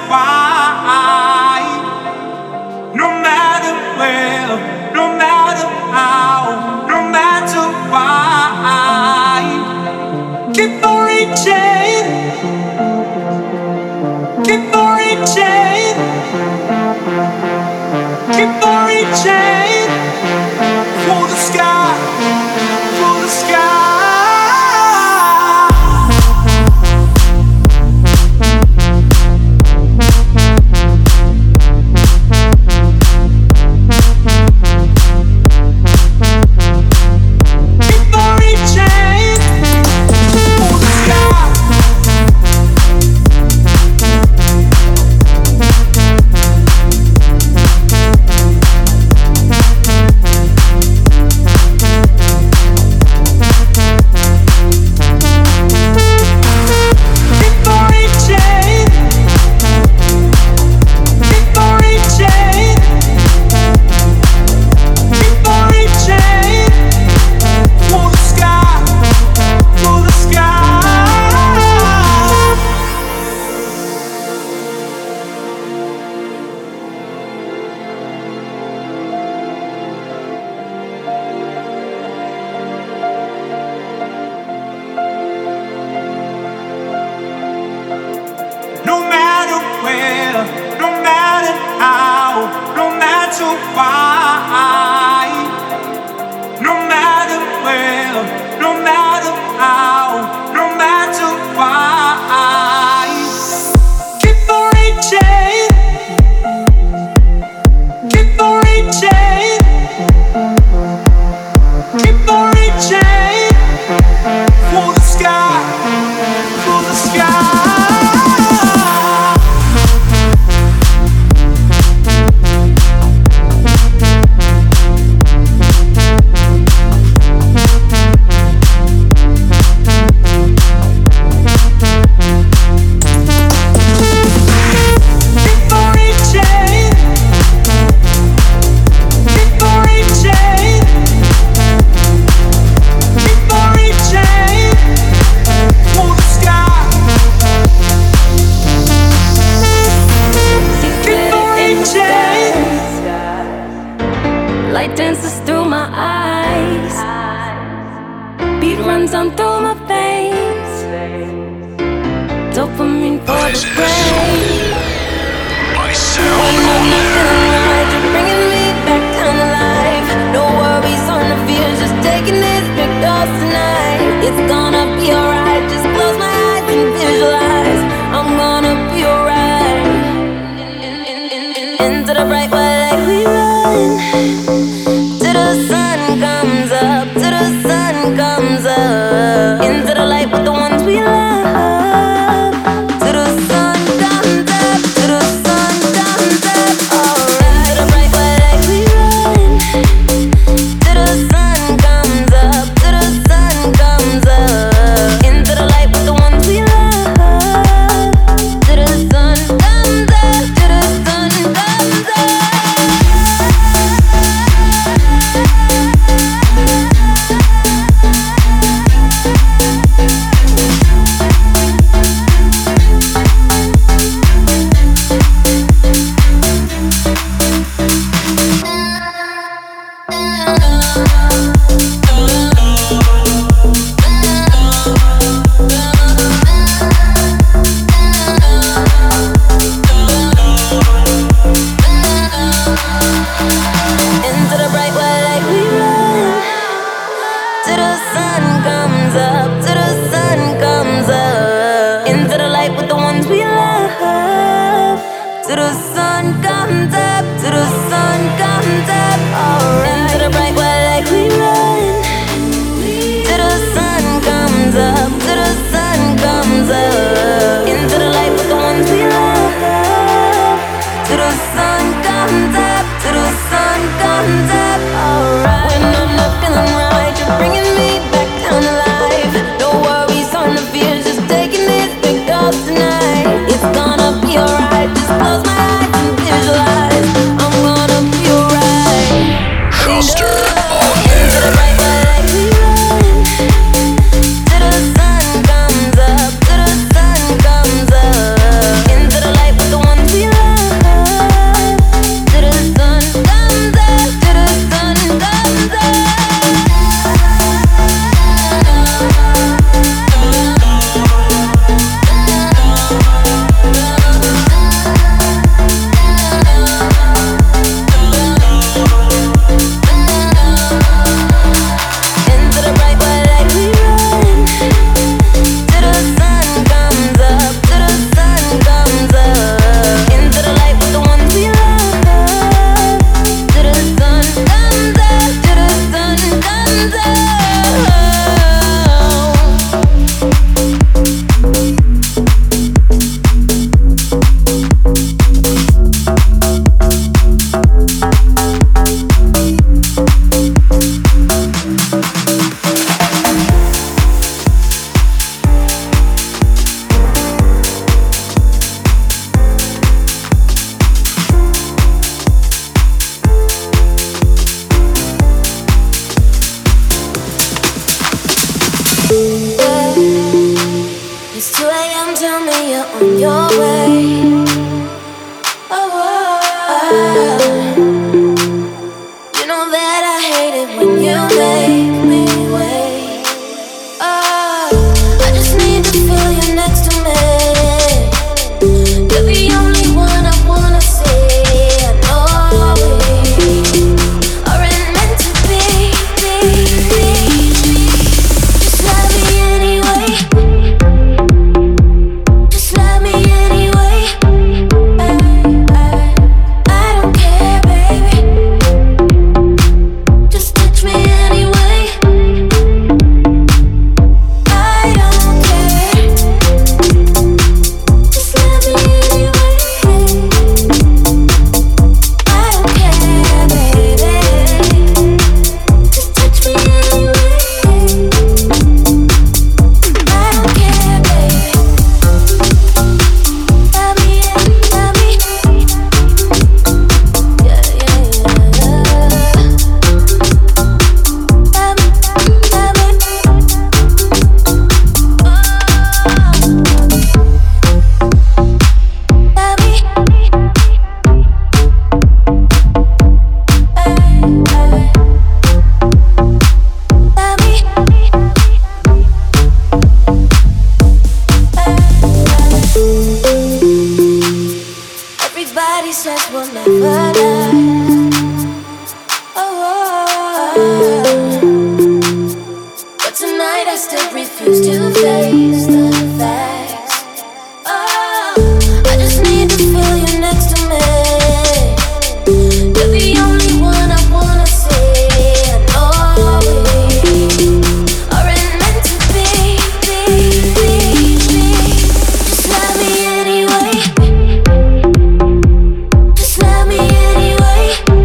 why, no matter where, no matter how, no matter why, keep on reaching, keep on reaching, keep on reaching for the sky, for the sky. Tonight, it's gonna be alright. Just close my eyes and visualize. I'm gonna It's 2 a.m. Tell me you're on your way. Oh, you know that I hate it when you make me wait. I just need to feel you next to me. You're the only one I wanna see. I know we aren't meant to be. Just love me anyway. Just love me anyway. I don't care, baby. Just touch me anyway. I don't care. Just love me anyway. I don't care, baby. Just touch me anyway. I don't care, baby. Love me, love me. Yeah, yeah, yeah. Love me, love me. Love me. Love me. Everybody says we'll never die. But tonight I still refuse to face the facts. I just need to feel you next to me. You're the only one I wanna see. I know we aren't meant to be. Just love me anyway. Just love me anyway.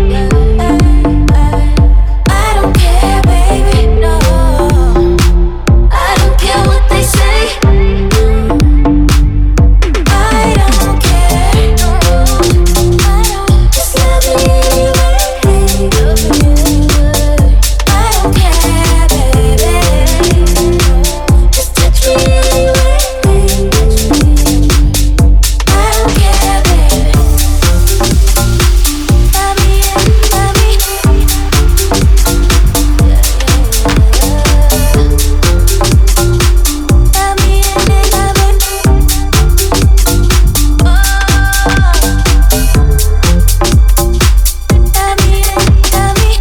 I don't care, baby, no. I don't care what they say. I don't care, no. I don't. Just love me anyway. I don't care, baby. Just touch me anyway. I don't care, baby. Love me, love me. Love me, love me. Love me, love me.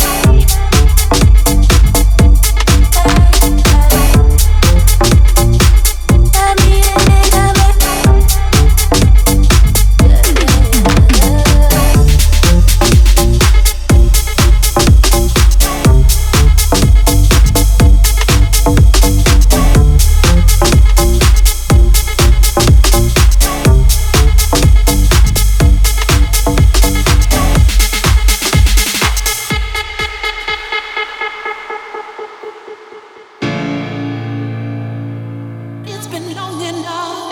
Love me, love me. It's been long enough.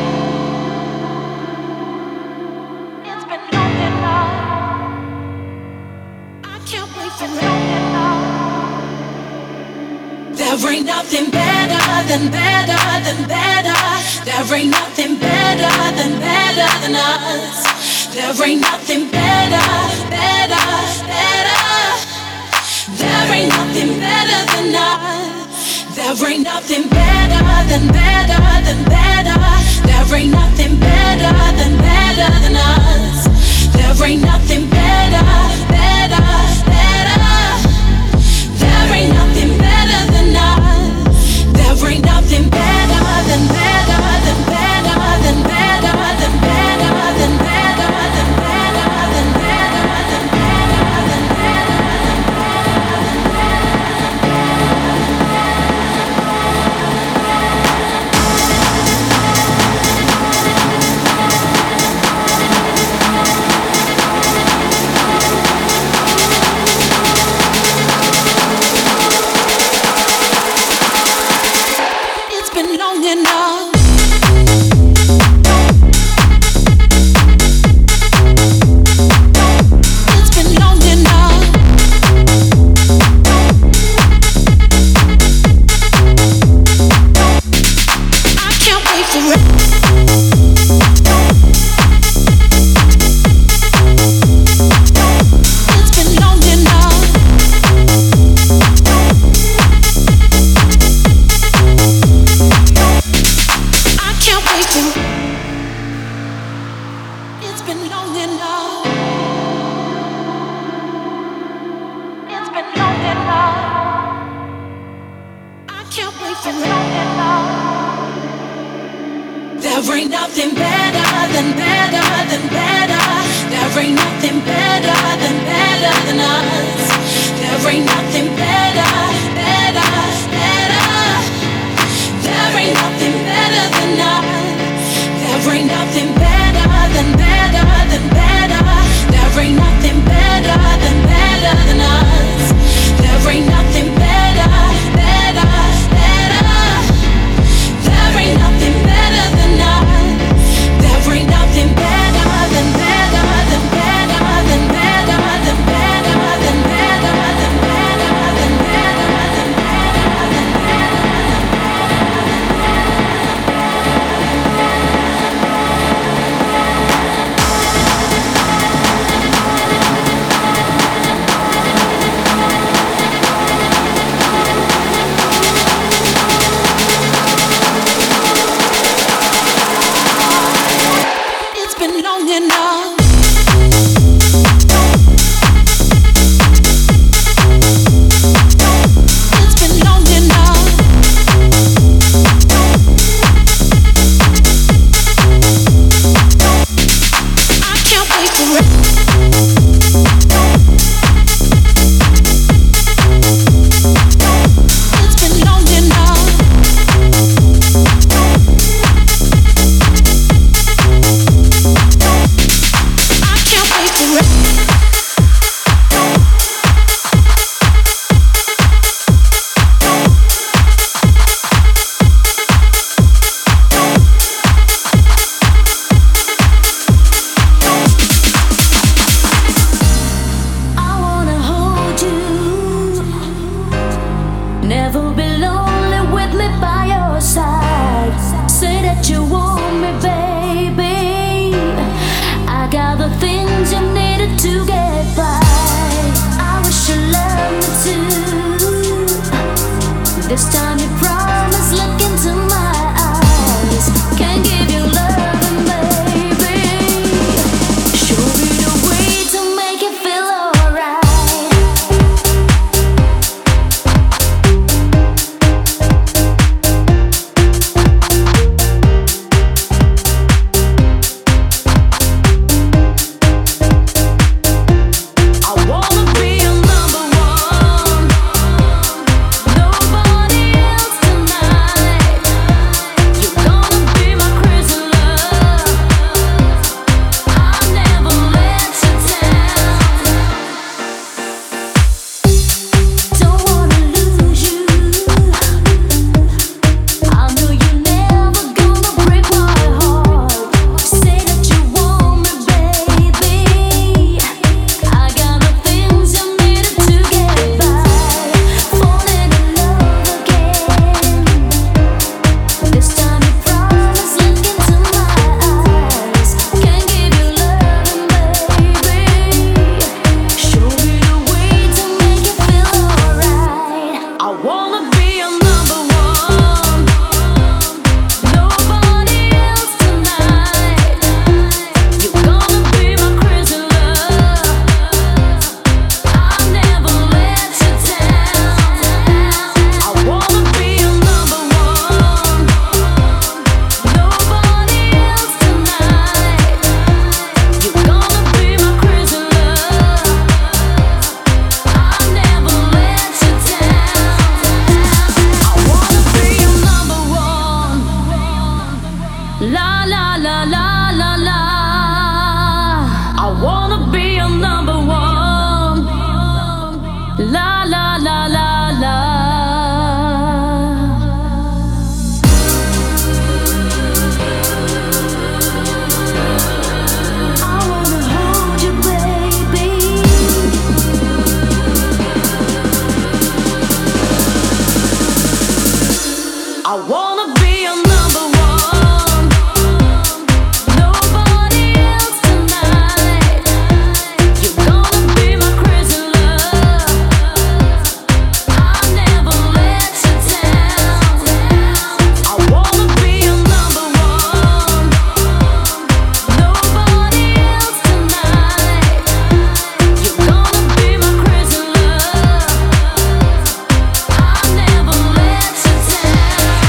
It's been long enough. I can't wait for long enough. There ain't nothing better than better than better. There ain't nothing better than us. There ain't nothing better, better, better. There ain't nothing better than us. There ain't nothing better than better than better. There ain't nothing better than us. There ain't nothing better, better, better. There ain't nothing better than us. There ain't nothing better than better than better than better than better than better than better than better than better than better. There ain't nothing better than better than better. There ain't nothing better than us. There ain't nothing better, better, better. There ain't nothing better than us. There ain't nothing better than better than better. There ain't nothing better than us. There ain't nothing better, better, better. There ain't nothing better than us. There ain't nothing better than better than better than better than better than better than better than better than better than long enough. It's been long enough. I can't wait for it. It's been long enough. This time you promise, look into my eyes. Can't give you loving, baby. Show me the way to make it feel alright. I wanna be your number one. Nobody else tonight. You're gonna be my crazy love. I'll never let you down. Don't wanna lose you. I know you're never gonna break my heart. Say that you want me, baby. I got the things you needed to get by. Falling in love again. This time you promise, look into my eyes. Can't give you loving, baby. Show me the way to make it feel alright. I wanna be your number one. Nobody else tonight. You're gonna be my crazy love. I'll never let you down. I wanna be your number one. Nobody else tonight. You're gonna be my crazy love. I'll never let you down. I wanna be your number one. La la la la la la. I wanna be your number one. La la la la la. I wanna hold you, baby. I wanna be your number one. Nobody else tonight. You're gonna be my crazy love. I'll never let you down. I wanna be your number one. Nobody else tonight. You're gonna be my crazy love. I'll never let you down.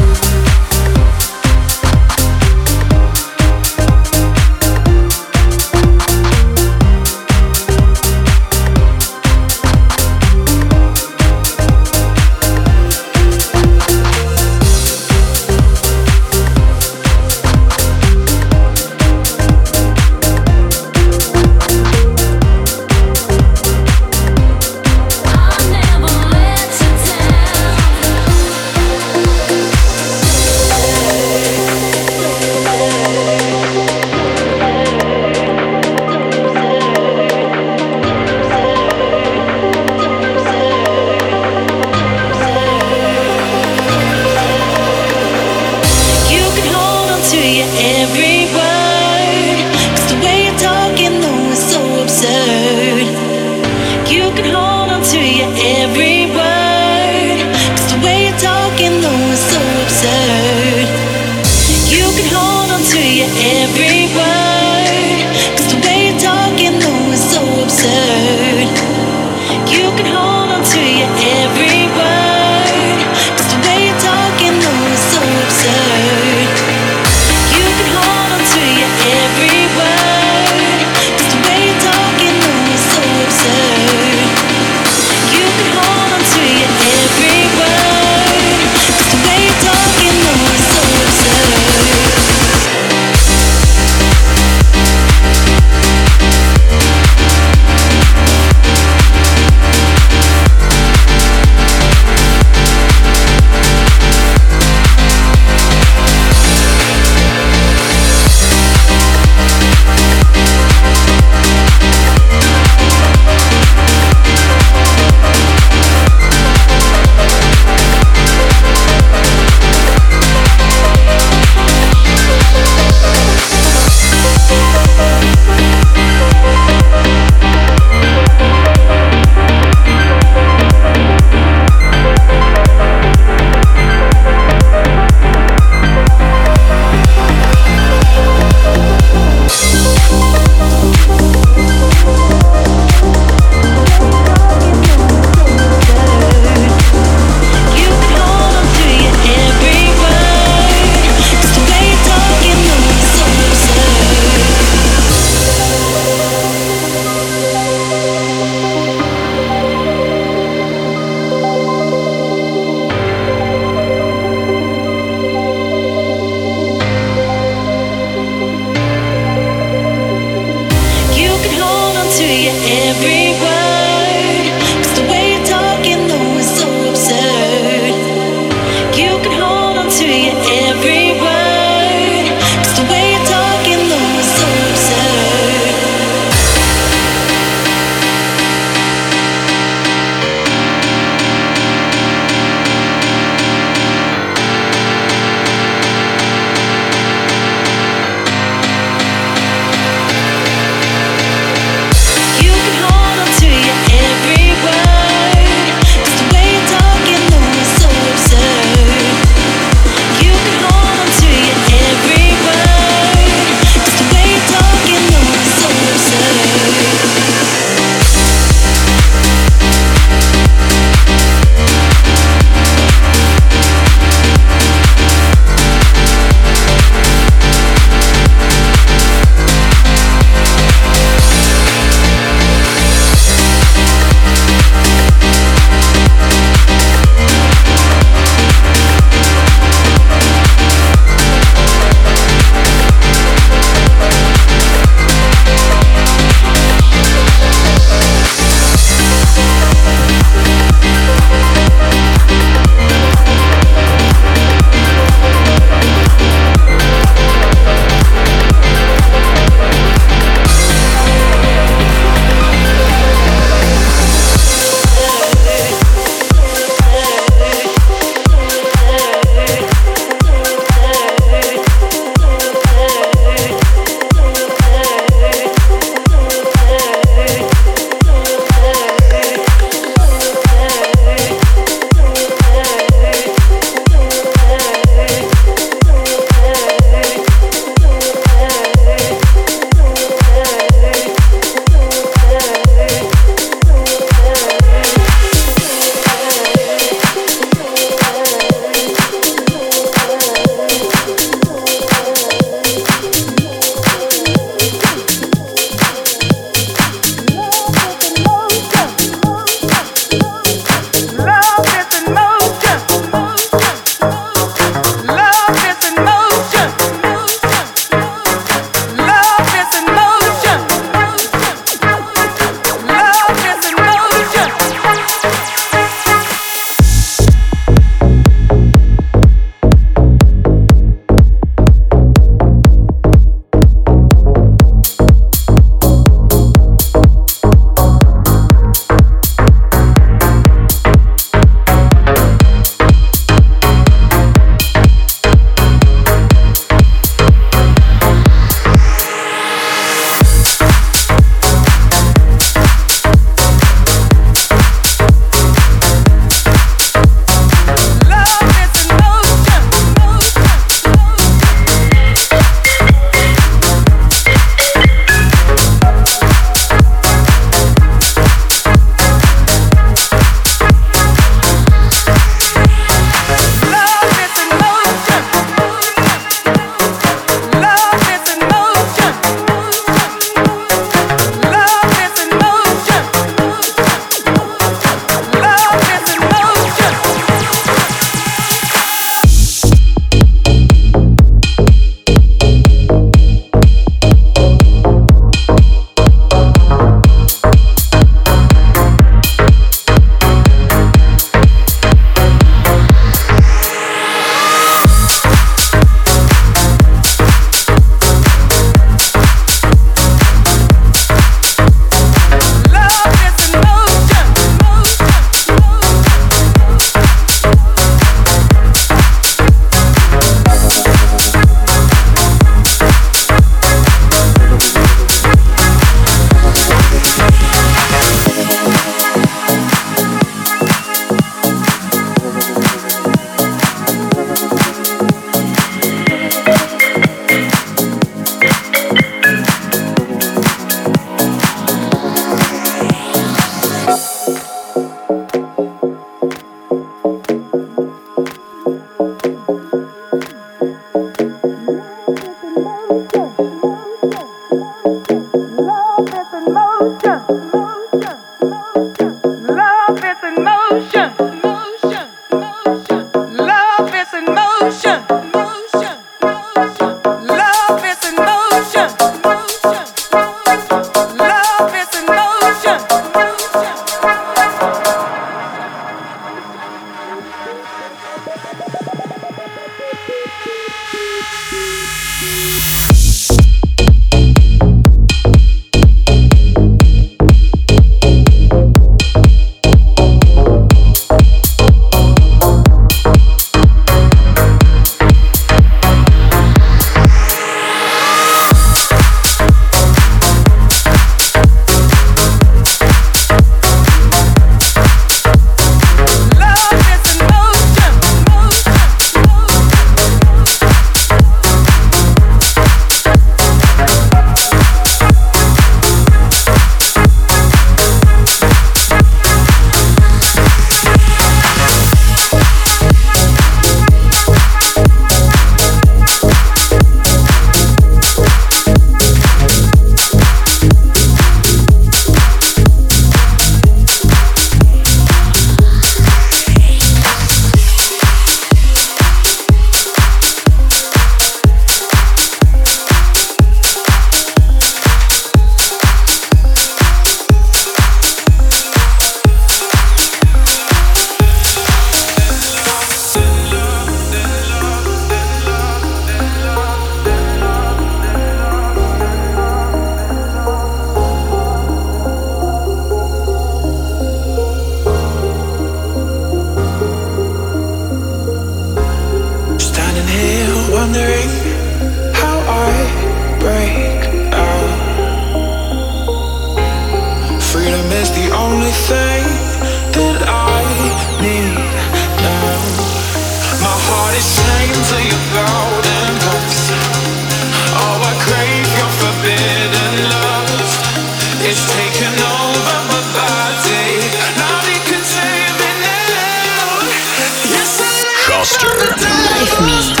Foster. Life Mix.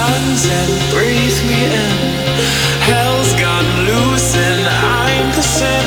and breathe me in. Hell's gone loose and I'm the same.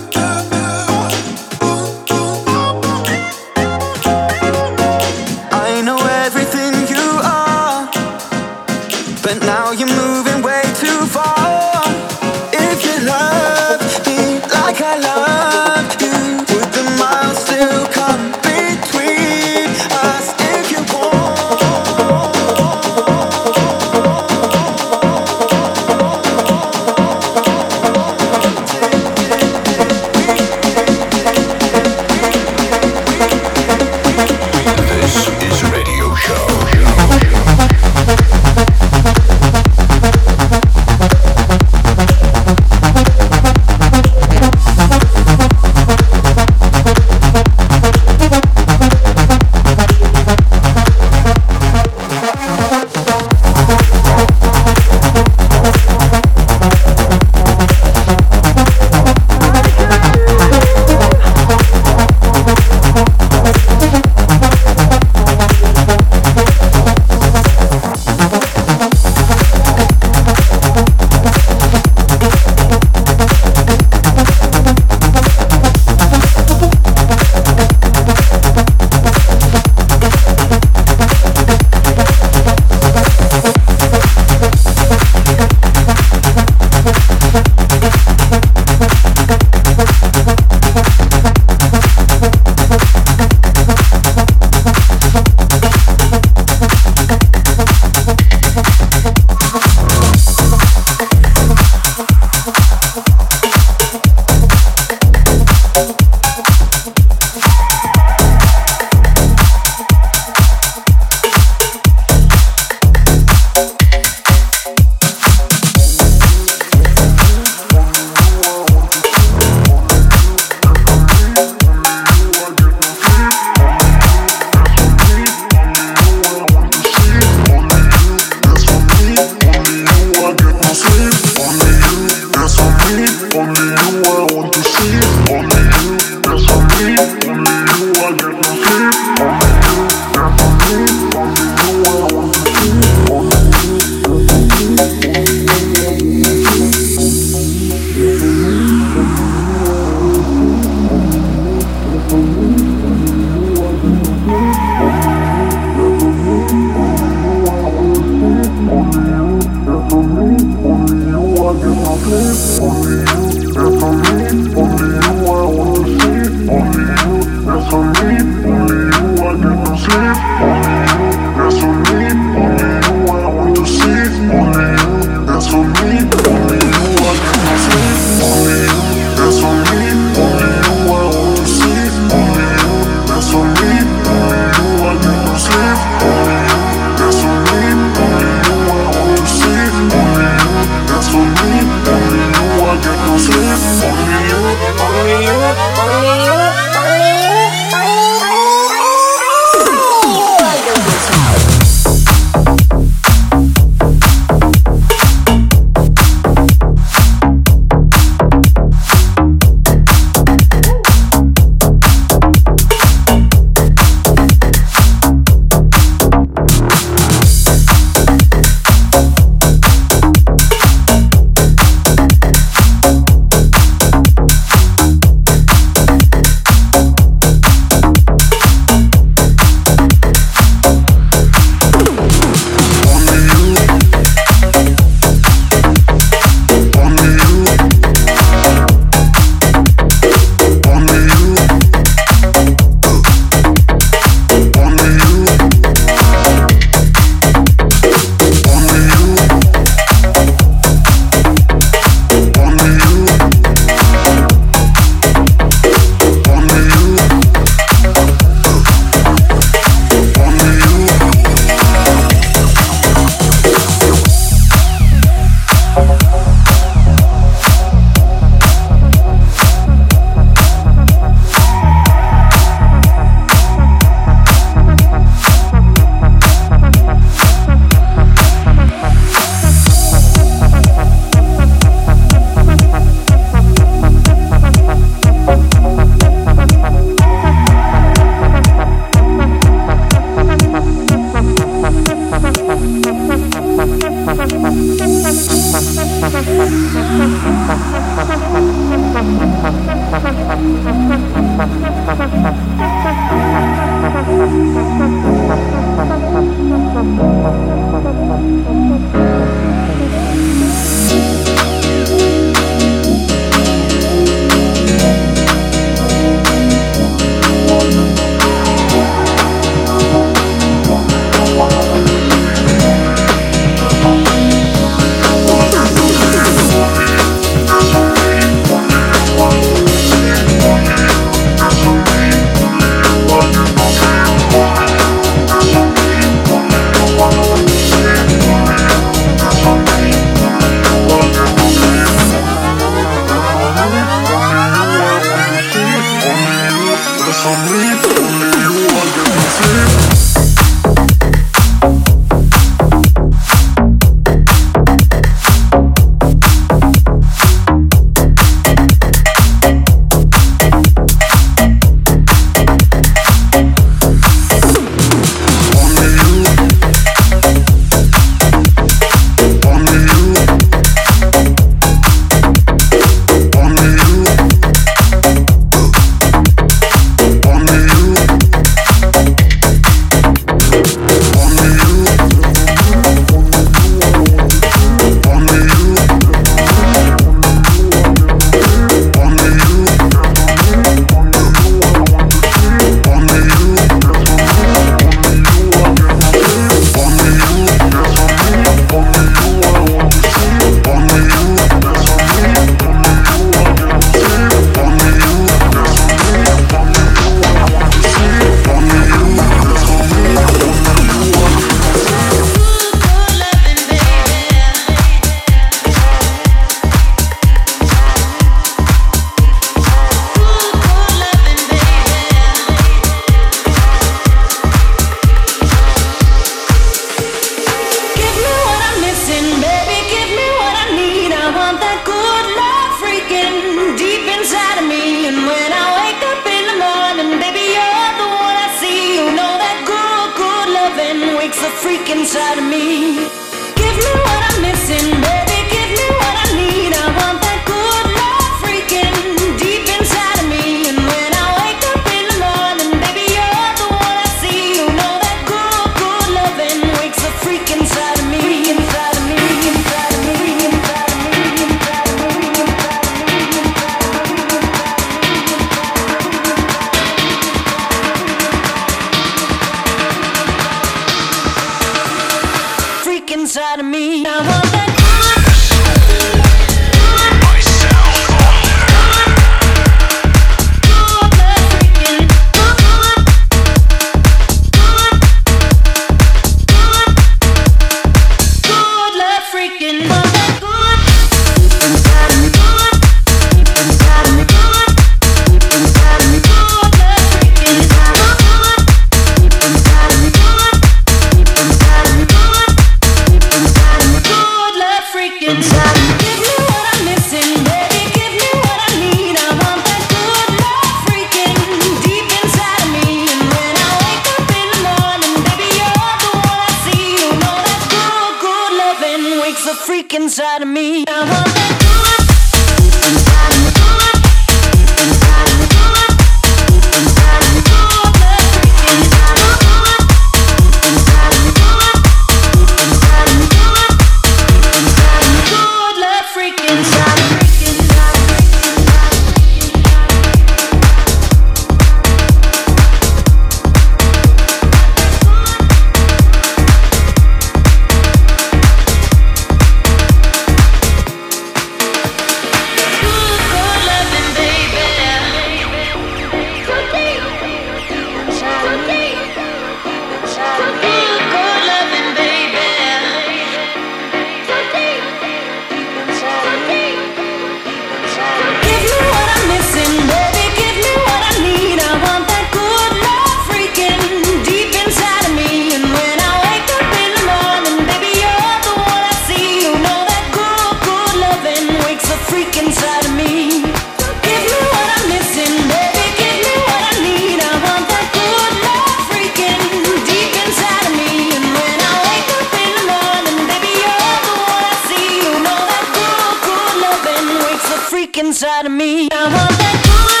inside of me. I want that good.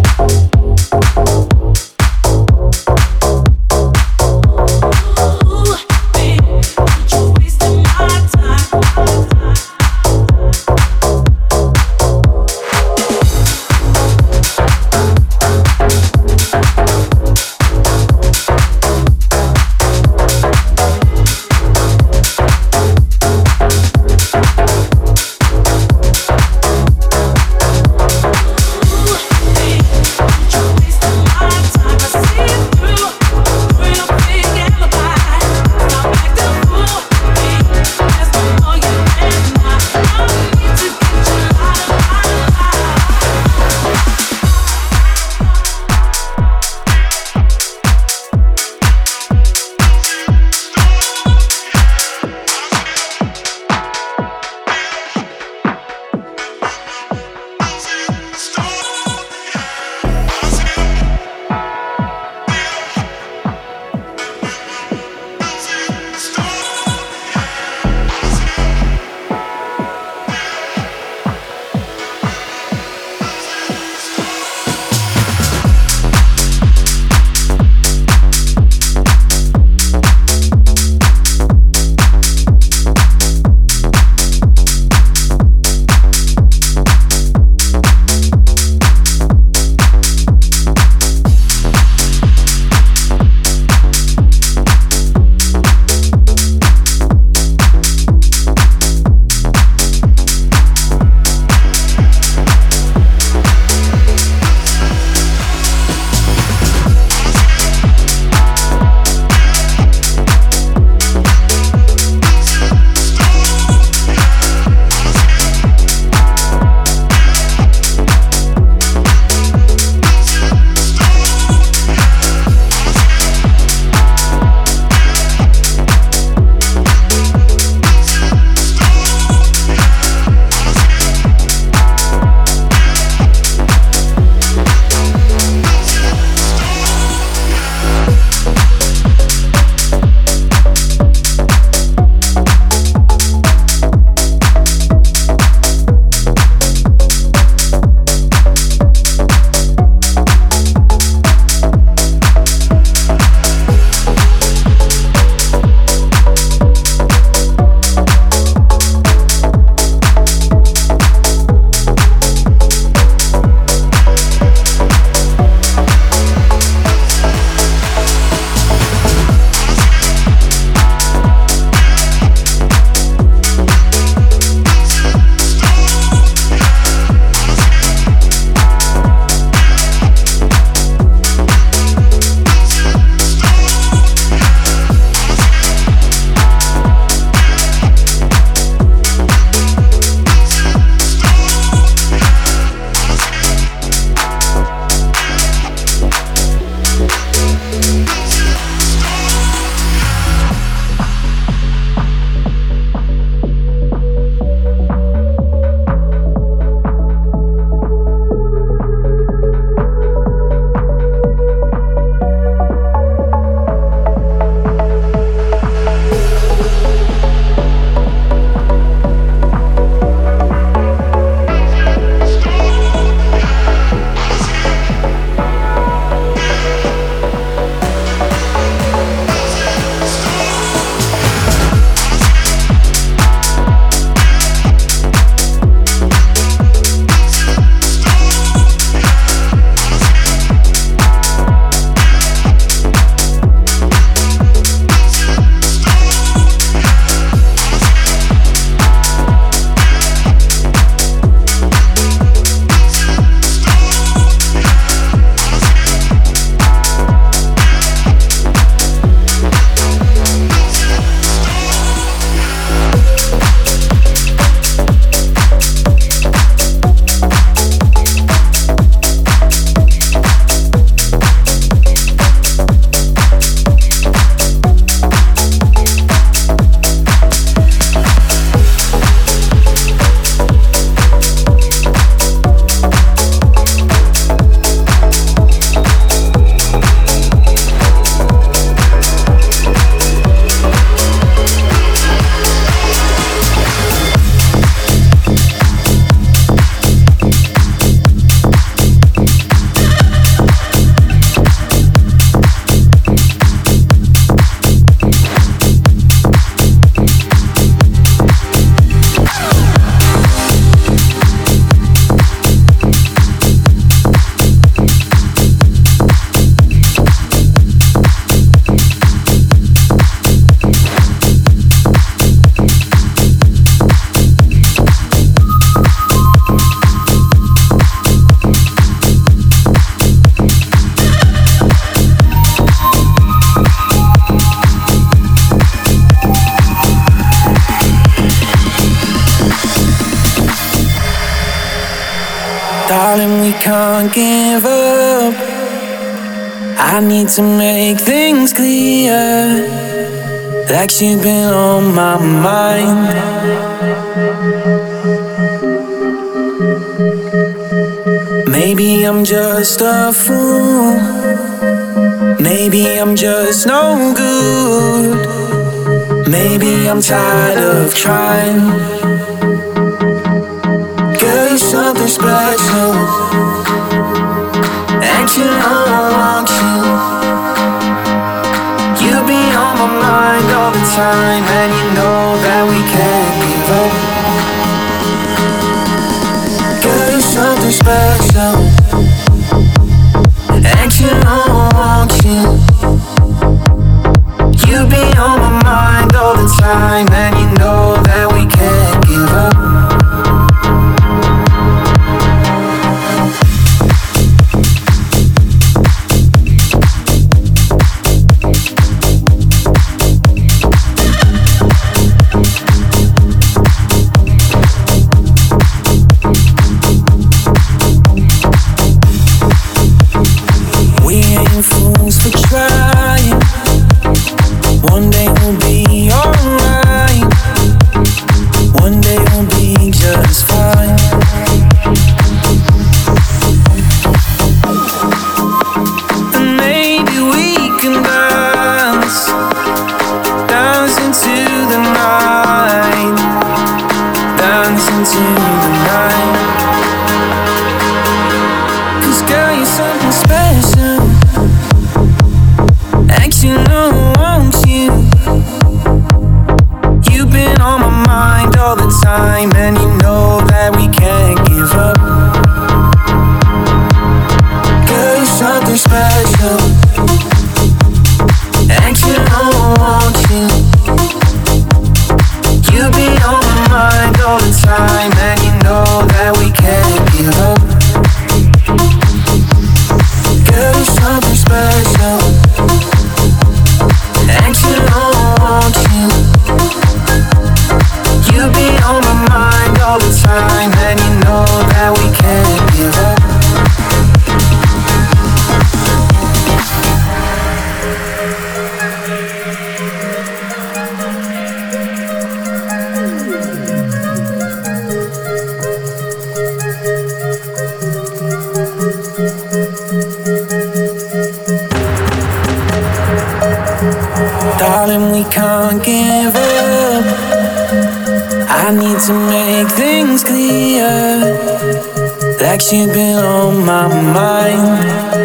Ooh. can't give up. I need to make things clear, like you've been on my mind. Maybe I'm just a fool, maybe I'm just no good, maybe I'm tired of trying. Girl, you're something special, and you know I want you. You be on my mind all the time, and you know that we can't give up. Girl, you're something special, and you know I want you. You be on my mind all the time, and you know that we can't give up. Fools for trying. One day we'll be alright. One day we'll be just fine. And maybe we can dance, dance into the night, dance into the night. 'Cause girl, you're something special, you know I want you. You've been on my mind all the time, and you know that we can't give up. Girl, you're something special, and you know I want you. You've been on my mind all the time, and you know that we can't give up. Girl, you're something special, and you know I want you. You be on my mind all the time, and you know that we can't give up. Darling, we can't give up. I need to make things clear, like you've been on my mind.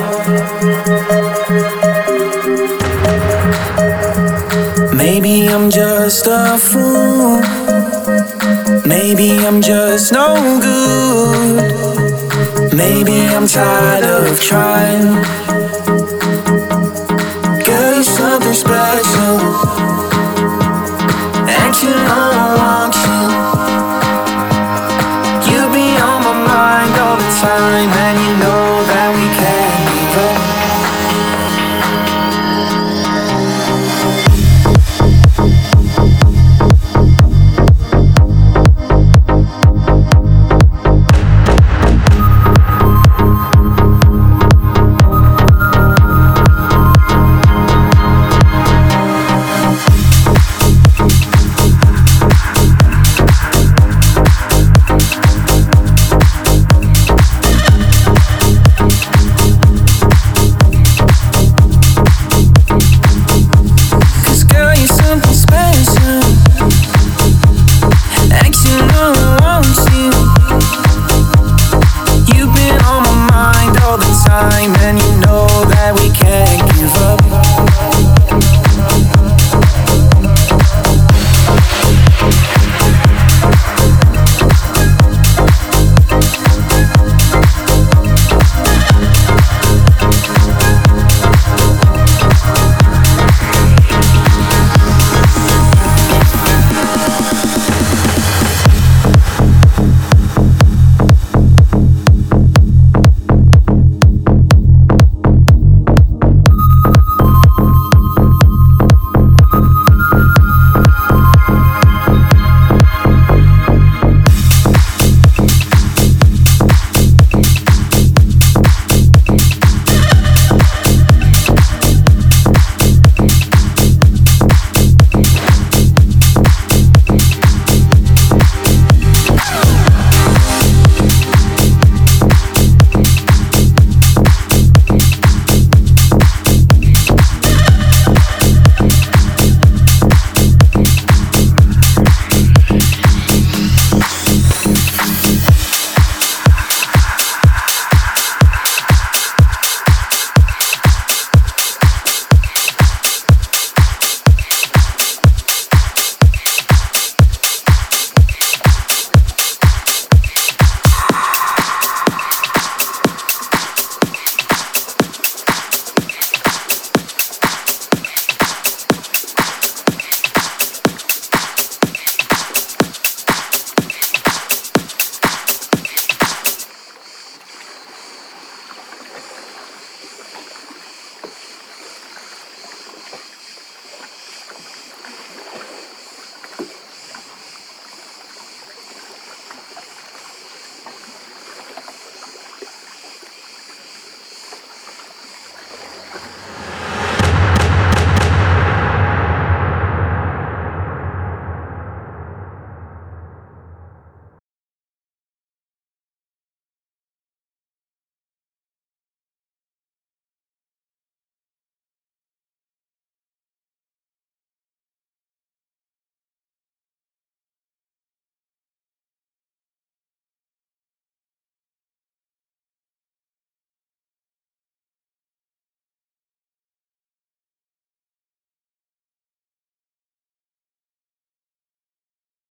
Maybe I'm just a fool, maybe I'm just no good, maybe I'm tired of trying. Girl, you're something special, and you know I want you. You be on my mind all the time, and you know that we can't give up. And you